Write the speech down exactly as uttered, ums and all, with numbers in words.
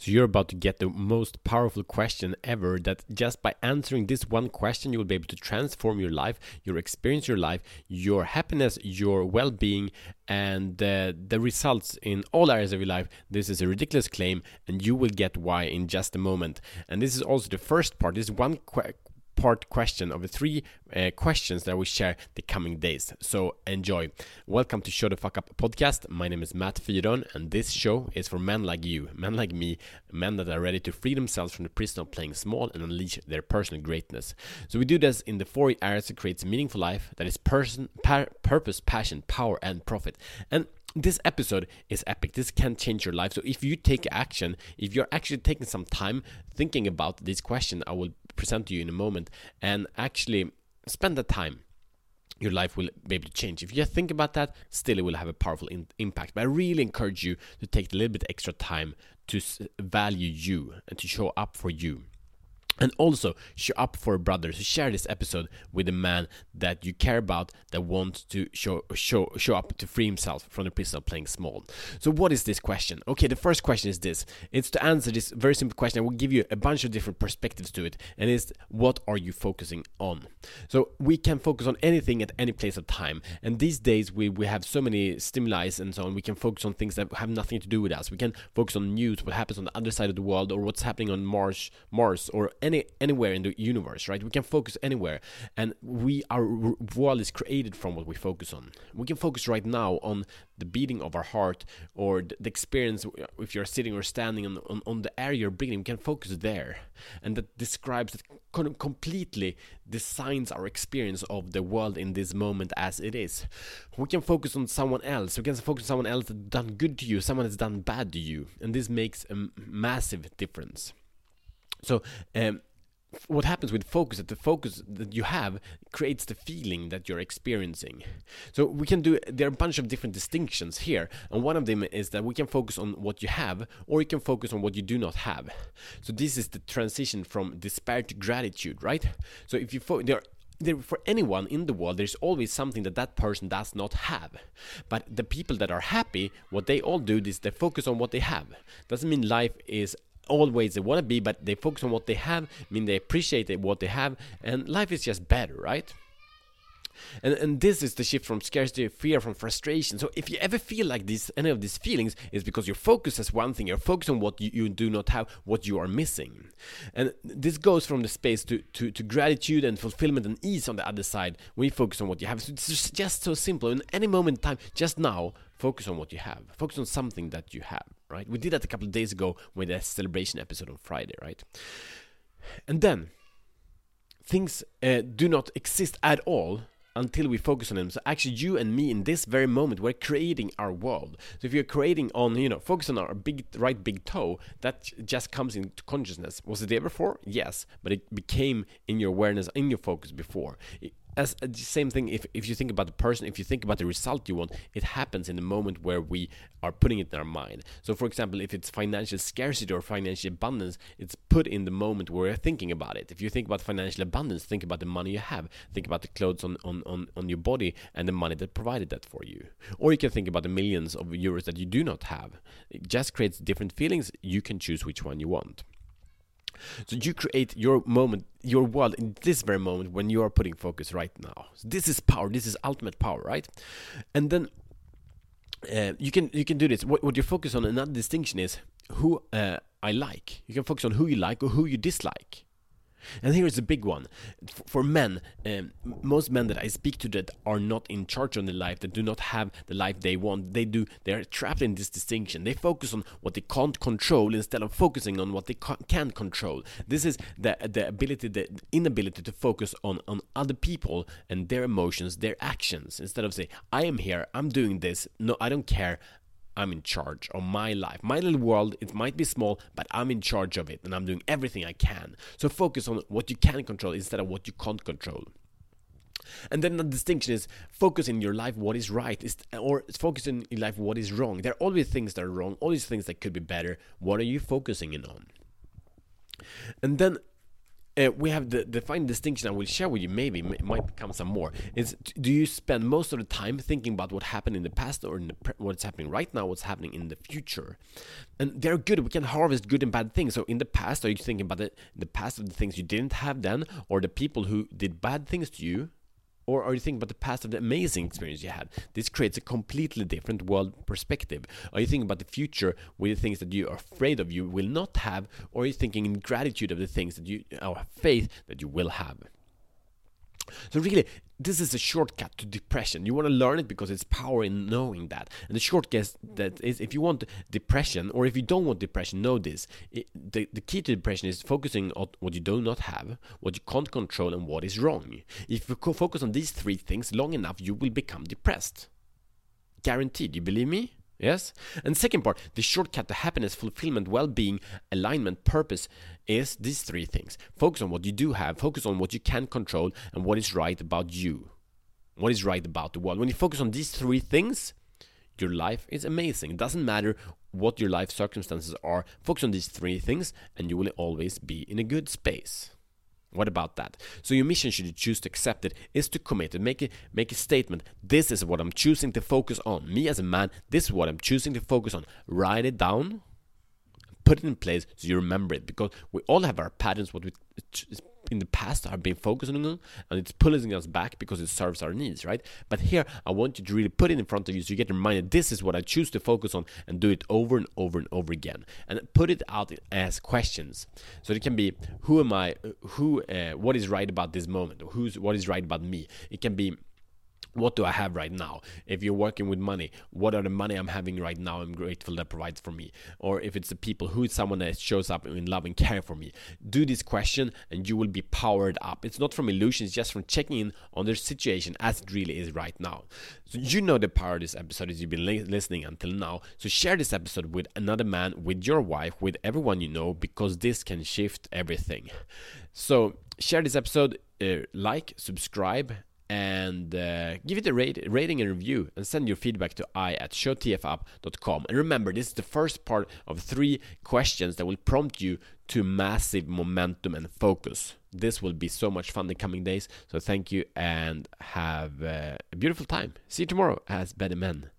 So you're about to get the most powerful question ever, that just by answering this one question, you will be able to transform your life, your experience, your life, your happiness, your well-being, and uh, the results in all areas of your life. This is a ridiculous claim, and you will get why in just a moment. And this is also the first part. This is one que- part question of the three uh, questions that we share the coming days. So enjoy. Welcome to Show the Fuck Up podcast. My name is Matt Fyron, and this show is for men like you, men like me, men that are ready to free themselves from the prison of playing small and unleash their personal greatness. So we do this in the four areas to create a meaningful life that is person, par- purpose, passion, power, and profit. And this episode is epic. This can change your life. So if you take action, if you're actually taking some time thinking about this question I will present to you in a moment, and actually spend that time, your life will be able to change. If you just think about that, still it will have a powerful in- impact. But I really encourage you to take a little bit extra time to s- value you and to show up for you. And also show up for a brother. So share this episode with a man that you care about, that wants to show show show up to free himself from the prison of playing small. So what is this question? Okay, the first question is this. It's to answer this very simple question. I will give you a bunch of different perspectives to it. And it's, what are you focusing on? So we can focus on anything at any place of time. And these days we, we have so many stimuli and so on. We can focus on things that have nothing to do with us. We can focus on news, what happens on the other side of the world, or what's happening on Mars, Mars, or any Any, anywhere in the universe, right? We can focus anywhere, and we our world is created from what we focus on. We can focus right now on the beating of our heart, or the, the experience if you're sitting or standing on, on, on the air you're breathing. We can focus there, and that describes, that completely designs our experience of the world in this moment as it is. We can focus on someone else. We can focus on someone else that's done good to you, someone that's done bad to you, and this makes a massive difference. So um, what happens with focus, that the focus that you have creates the feeling that you're experiencing. So we can do, there are a bunch of different distinctions here, and one of them is that we can focus on what you have, or you can focus on what you do not have. So this is the transition from despair to gratitude, right? So if you fo- there There, for anyone in the world, there's always something that that person does not have. But the people that are happy, what they all do is they focus on what they have. Doesn't mean life is always they want to be, but they focus on what they have, I mean they appreciate what they have, and life is just better, right? And and this is the shift from scarcity, fear, from frustration. So if you ever feel like this, any of these feelings, is because your focus is one thing. You're focused on what you, you do not have, what you are missing. And this goes from the space to, to, to gratitude and fulfillment and ease on the other side, when you focus on what you have. So it's just so simple. In any moment in time, just now, focus on what you have. Focus on something that you have, right? We did that a couple of days ago with the celebration episode on Friday, right? And then, things uh, do not exist at all until we focus on them. So actually you and me in this very moment, we're creating our world. So if you're creating on, you know, focus on our big right big toe, that just comes into consciousness. Was it there before? Yes, but it became in your awareness, in your focus before. As the same thing, if, if you think about the person, if you think about the result you want, it happens in the moment where we are putting it in our mind. So for example, if it's financial scarcity or financial abundance, it's put in the moment where you're thinking about it. If you think about financial abundance, think about the money you have. Think about the clothes on, on, on, on your body and the money that provided that for you. Or you can think about the millions of euros that you do not have. It just creates different feelings. You can choose which one you want. So you create your moment, your world in this very moment when you are putting focus right now. So this is power. This is ultimate power, right? And then uh, you can you can do this. What, what you focus on, another distinction is who uh, I like. You can focus on who you like or who you dislike. And here is a big one. For men, um, most men that I speak to that are not in charge of their life, that do not have the life they want, they do, they're trapped in this distinction. They focus on what they can't control instead of focusing on what they can control. This is the the ability, the inability to focus on, on other people and their emotions, their actions. Instead of say, I am here, I'm doing this, no, I don't care. I'm in charge of my life. My little world, it might be small, but I'm in charge of it and I'm doing everything I can. So focus on what you can control instead of what you can't control. And then the distinction is focus in your life what is right, is, or focus in your life what is wrong. There are always things that are wrong, always things that could be better. What are you focusing in on? And then uh, we have the, the fine distinction I will share with you, maybe it might become some more, is do you spend most of the time thinking about what happened in the past or in the pre- what's happening right now, what's happening in the future? And they're good. We can harvest good and bad things. So in the past, are you thinking about the, the past of the things you didn't have then, or the people who did bad things to you? Or are you thinking about the past of the amazing experience you had? This creates a completely different world perspective. Are you thinking about the future with the things that you are afraid of you will not have? Or are you thinking in gratitude of the things that you, or faith that you will have? So really, this is a shortcut to depression. You want to learn it because it's power in knowing that. And the shortcut that is, if you want depression, or if you don't want depression, know this. It, the, the key to depression is focusing on what you do not have, what you can't control, and what is wrong. If you focus on these three things long enough, you will become depressed. Guaranteed. You believe me? Yes? And second part, the shortcut to happiness, fulfillment, well-being, alignment, purpose is these three things. Focus on what you do have, focus on what you can control, and what is right about you. What is right about the world. When you focus on these three things, your life is amazing. It doesn't matter what your life circumstances are. Focus on these three things, and you will always be in a good space. What about that? So your mission, should you choose to accept it, is to commit and make a, make a statement. This is what I'm choosing to focus on. Me as a man, this is what I'm choosing to focus on. Write it down, put it in place so you remember it. Because we all have our patterns, what we in the past have been focusing on, and it's pulling us back because it serves our needs, right? But here, I want you to really put it in front of you so you get reminded, this is what I choose to focus on, and do it over and over and over again. And put it out as questions. So it can be, who am I, who, uh, what is right about this moment, or who's, what is right about me? It can be, what do I have right now? If you're working with money, what are the money I'm having right now I'm grateful that provides for me? Or if it's the people, who is someone that shows up in love and care for me? Do this question and you will be powered up. It's not from illusions, it's just from checking in on their situation as it really is right now. So you know the power of this episode as you've been li- listening until now. So share this episode with another man, with your wife, with everyone you know, because this can shift everything. So share this episode, uh, like, subscribe, and uh, give it a rate, rating and review, and send your feedback to I at show T F up dot com. And remember, this is the first part of three questions that will prompt you to massive momentum and focus. This will be so much fun the coming days. So thank you and have uh, a beautiful time. See you tomorrow as better men.